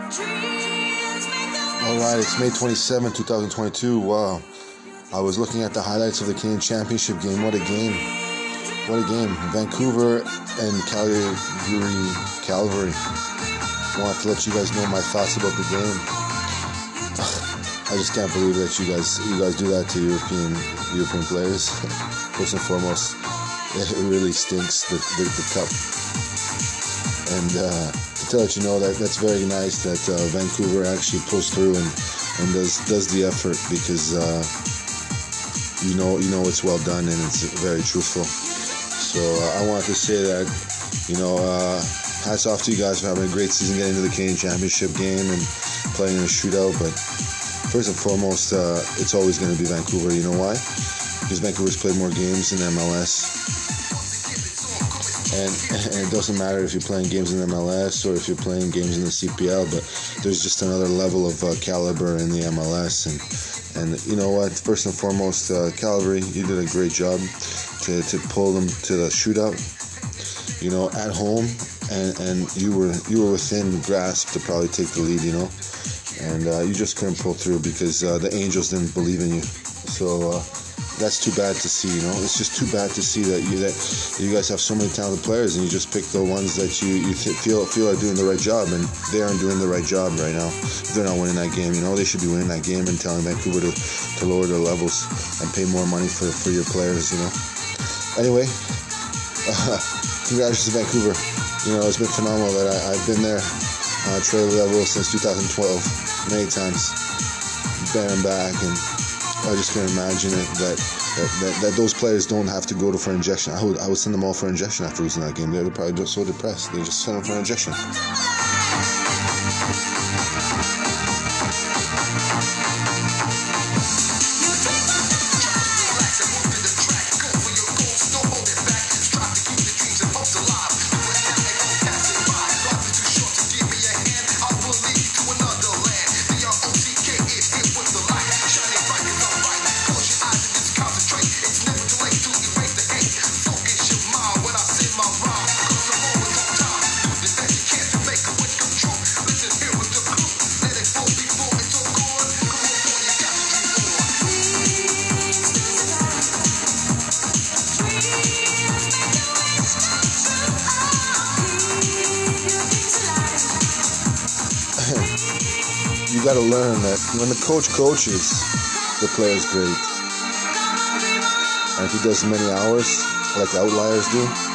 Alright, it's May 27, 2022. Wow. I was looking at the highlights of the Canadian Championship game. What a game. What a game. Vancouver and Calgary. I want to let you guys know my thoughts about the game. I just can't believe that you guys do that to European players. First and foremost, it really stinks, the cup. And to let you know that's very nice that Vancouver actually pulls through and does the effort, because you know it's well done and it's very truthful. So I wanted to say that, hats off to you guys for having a great season, getting to the Canadian Championship game and playing in a shootout. But first and foremost, it's always going to be Vancouver. You know why? Because Vancouver's played more games in MLS. And it doesn't matter if you're playing games in MLS or if you're playing games in the CPL, but there's just another level of caliber in the MLS. And you know what? First and foremost, Calgary, you did a great job to pull them to the shootout. At home, and you were within grasp to probably take the lead. And you just couldn't pull through because the Angels didn't believe in you. So. That's too bad to see, It's just too bad to see that you guys have so many talented players and you just pick the ones that you feel are doing the right job, and they aren't doing the right job right now. They're not winning that game, They should be winning that game and telling Vancouver to lower their levels and pay more money for your players, Anyway, congratulations to Vancouver. It's been phenomenal that I've been there trade level since 2012 many times, there and back, and I just can't imagine it that those players don't have to go for injection. I would send them all for injection after losing that game. They're probably just so depressed. They just send them for injection. You got to learn that when the coach coaches, the player's great. And if he does many hours, like the Outliers do,